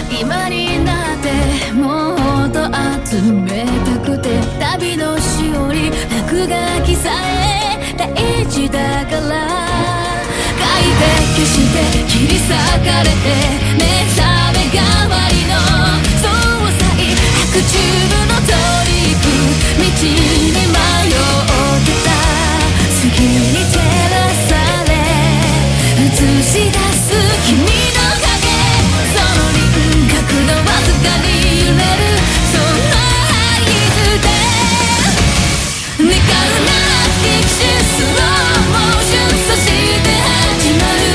今になってもっと集めたくて、旅のしおり落書きさえ大事だから、書いて消して切り裂かれて目覚め代わりの総裁、白昼のトリック、道に迷ってた月に照らされ映し出す君の影、その輪郭のわずかに揺れるその合図で、願うならフィクションスローモーション、そして始まる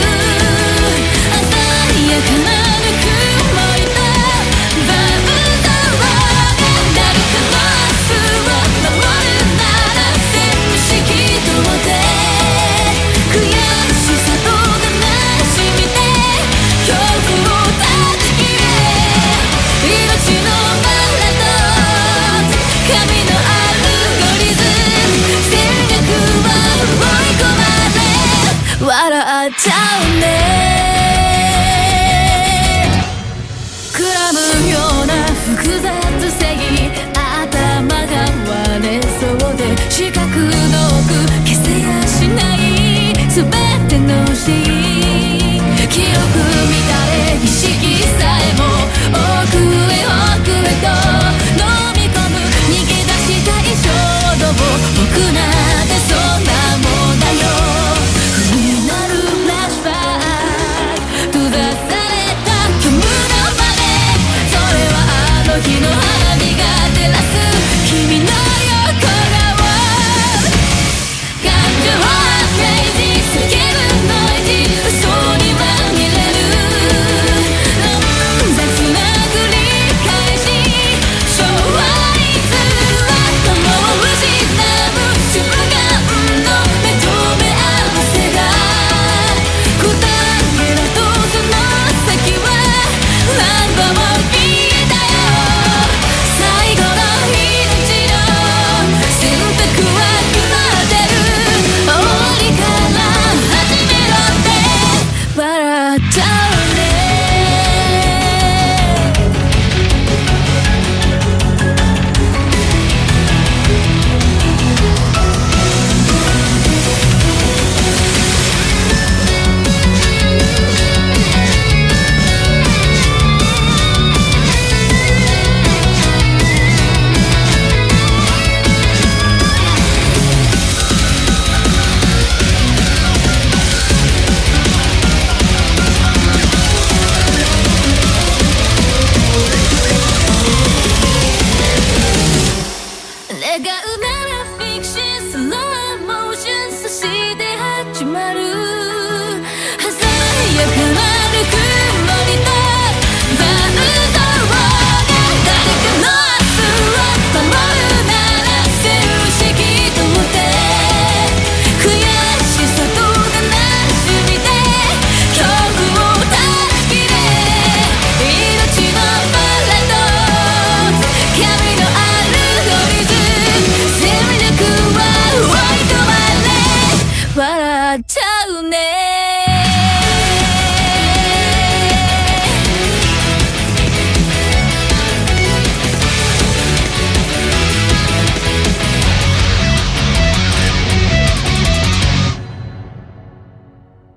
鮮やかなぬくもりとバウンドローが、誰かの明日を守るなら全部引き取って悔しさと悲しみで恐怖を断ち切れ、命のバラと神のアルゴリズム、戦略は追い込まれ笑っちゃうね、くらむような複雑性、頭が割れそうで四角の奥